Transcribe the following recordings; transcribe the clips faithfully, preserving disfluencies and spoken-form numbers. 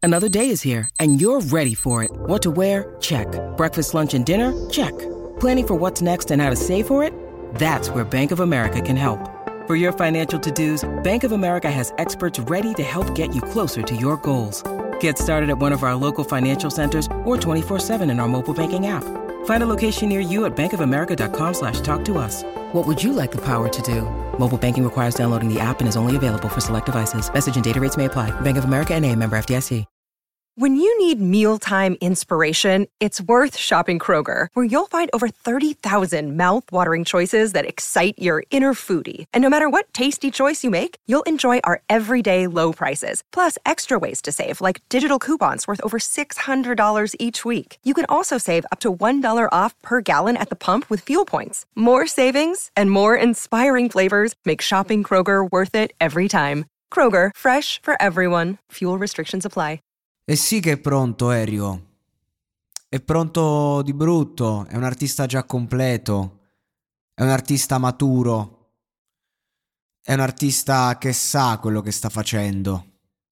Another day is here, and you're ready for it. What to wear? Check. Breakfast, lunch, and dinner? Check. Planning for what's next and how to save for it? That's where Bank of America can help. For your financial to-dos, Bank of America has experts ready to help get you closer to your goals. Get started at one of our local financial centers or twenty-four seven in our mobile banking app. Find a location near you at bankofamerica.com slash talk to us. What would you like the power to do? Mobile banking requires downloading the app and is only available for select devices. Message and data rates may apply. Bank of America N A, member F D I C. When you need mealtime inspiration, it's worth shopping Kroger, where you'll find over thirty thousand mouth-watering choices that excite your inner foodie. And no matter what tasty choice you make, you'll enjoy our everyday low prices, plus extra ways to save, like digital coupons worth over six hundred dollars each week. You can also save up to one dollar off per gallon at the pump with fuel points. More savings and more inspiring flavors make shopping Kroger worth it every time. Kroger, fresh for everyone. Fuel restrictions apply. E sì che è pronto Elio, è pronto di brutto, è un artista già completo, è un artista maturo, è un artista che sa quello che sta facendo.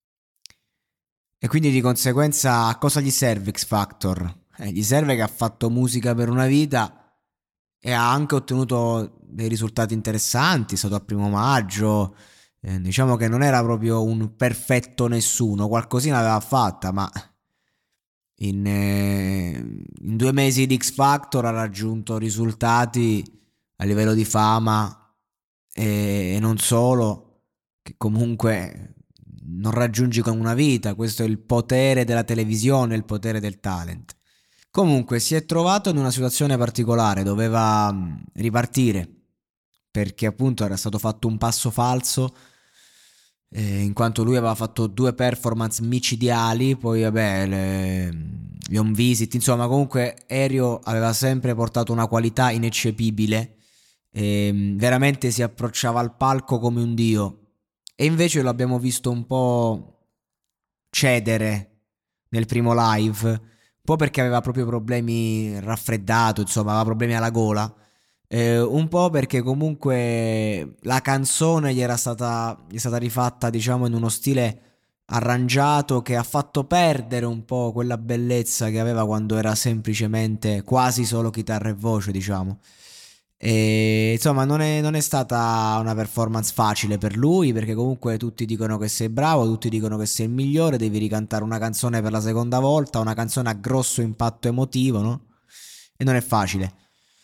E quindi di conseguenza a cosa gli serve X Factor? Eh, gli serve che ha fatto musica per una vita e ha anche ottenuto dei risultati interessanti, è stato al primo maggio. Eh, diciamo che non era proprio un perfetto nessuno, qualcosina aveva fatta, ma in, eh, in due mesi di X Factor ha raggiunto risultati a livello di fama e, e non solo, che comunque non raggiungi con una vita. Questo è il potere della televisione, il potere del talent. Comunque si è trovato in una situazione particolare, doveva mh, ripartire, perché appunto era stato fatto un passo falso, Eh, in quanto lui aveva fatto due performance micidiali, poi vabbè le, gli home visit, insomma comunque Elio aveva sempre portato una qualità ineccepibile, e veramente si approcciava al palco come un dio, e invece lo abbiamo visto un po' cedere nel primo live, un po' perché aveva proprio problemi raffreddato, insomma aveva problemi alla gola. Eh, un po' perché comunque la canzone gli era stata, gli è stata rifatta, diciamo, in uno stile arrangiato che ha fatto perdere un po' quella bellezza che aveva quando era semplicemente quasi solo chitarra e voce, diciamo. E insomma non è, non è stata una performance facile per lui, perché comunque tutti dicono che sei bravo, tutti dicono che sei il migliore, devi ricantare una canzone per la seconda volta, una canzone a grosso impatto emotivo, no? E non è facile.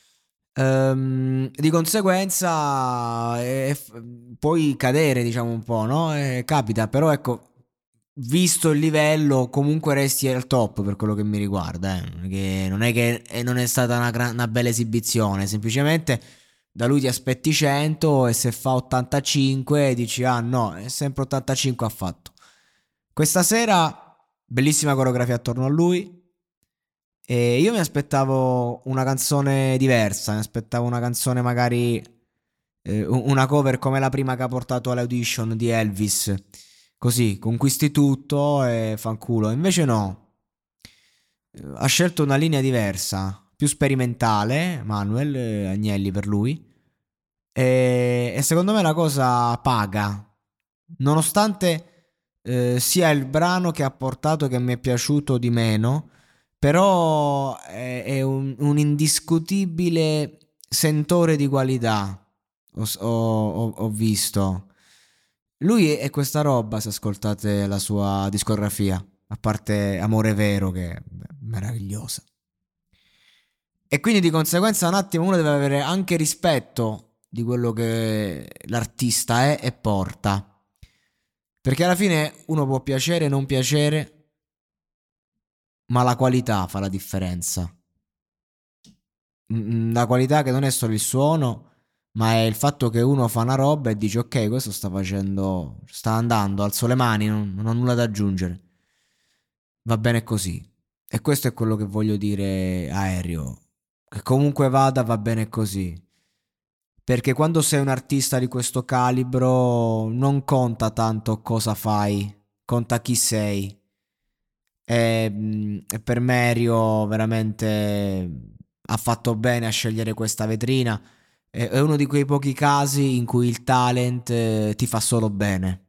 Ehm, di conseguenza eh, puoi cadere, diciamo, un po', no? Eh, capita, però ecco, visto il livello comunque resti al top per quello che mi riguarda, eh. Che non è che eh, non è stata una, gran- una bella esibizione, semplicemente da lui ti aspetti cento e se fa ottantacinque dici ah no, è sempre ottantacinque ha fatto. Questa sera bellissima coreografia attorno a lui. E io mi aspettavo una canzone diversa, mi aspettavo una canzone magari eh, una cover come la prima che ha portato alle audition di Elvis, così conquisti tutto e fanculo. Invece no, ha scelto una linea diversa, più sperimentale, Manuel eh, Agnelli per lui, e, e secondo me la cosa paga, nonostante eh, sia il brano che ha portato che mi è piaciuto di meno. Però è, è un, un indiscutibile sentore di qualità. Ho, ho, ho visto. Lui è questa roba, se ascoltate la sua discografia, a parte Amore Vero, che è meravigliosa. E quindi di conseguenza un attimo uno deve avere anche rispetto di quello che l'artista è e porta. Perché alla fine uno può piacere o non piacere, ma la qualità fa la differenza. La qualità che non è solo il suono, ma è il fatto che uno fa una roba e dice ok, questo sta facendo, sta andando, alzo le mani, non, non ho nulla da aggiungere, va bene così. E questo è quello che voglio dire a Elio, che comunque vada va bene così, perché quando sei un artista di questo calibro non conta tanto cosa fai, conta chi sei. E, e per me Elio veramente ha fatto bene a scegliere questa vetrina. È, è uno di quei pochi casi in cui il talent eh, ti fa solo bene.